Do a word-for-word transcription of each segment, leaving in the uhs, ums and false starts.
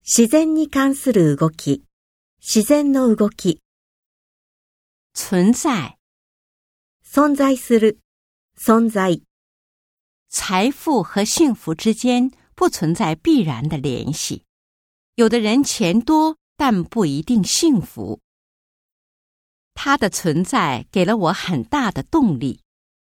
自然に関する動き、自然の動き。 存在、 存在する、存在。 财富和幸福之间不存在必然的联系。有的人钱多，但不一定幸福。它的存在给了我很大的动力。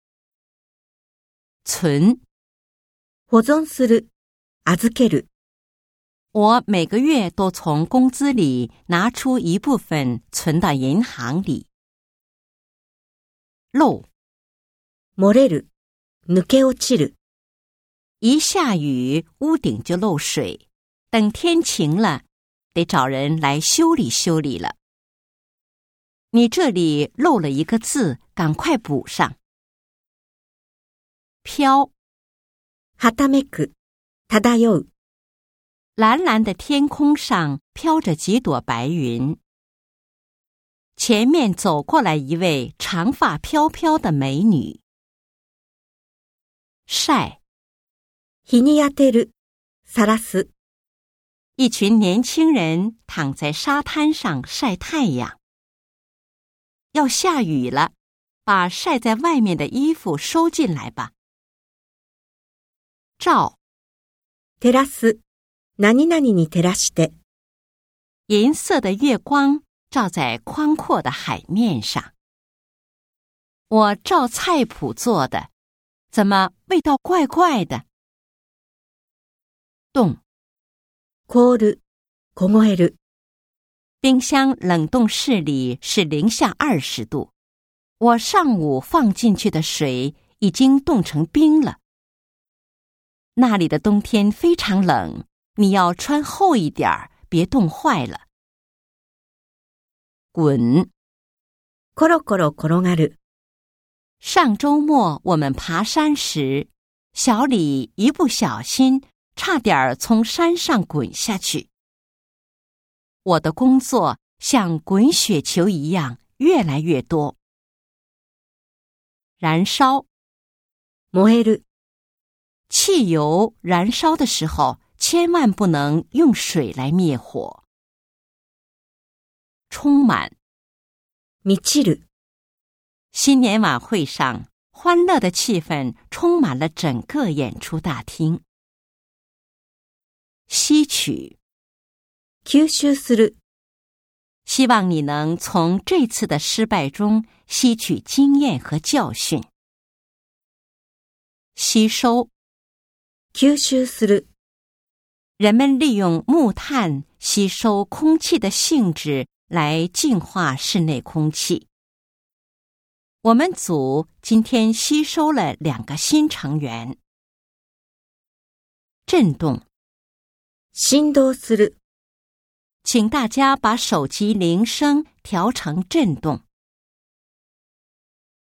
存， 保存する、預ける。 我每个月都从工资里拿出一部分存到银行里。漏， 漏れる、抜け落ちる。 一下雨，屋顶就漏水，等天晴了，得找人来修理修理了。你这里漏了一个字，赶快补上。飘， はためく、漂う。 蓝蓝的天空上飘着几朵白云。前面走过来一位长发飘飘的美女。晒， 日に当てる、さらす。 一群年轻人躺在沙滩上晒太阳。要下雨了，把晒在外面的衣服收进来吧。照， 照らす、何々に照らして。 银色的月光照在宽阔的海面上。我照菜谱做的，怎么味道怪怪的？冻， 凍る、凍える。 冰箱冷冻室里是零下二十度，我上午放进去的水已经冻成冰了。那里的冬天非常冷，你要穿厚一点儿，别冻坏了。滚， コロコロ転がる。 上周末我们爬山时，小李一不小心差点从山上滚下去。我的工作像滚雪球一样越来越多。燃烧， 燃える。 汽油燃烧的时候，千万不能用水来灭火。充满， 満ちる。 新年晚会上，欢乐的气氛充满了整个演出大厅。吸取， 吸収する。 希望你能从这次的失败中吸取经验和教训。吸收， 吸収する。 人们利用木炭吸收空气的性质来净化室内空气。我们组今天吸收了两个新成员。震动， 振動する。 请大家把手机铃声调成震动。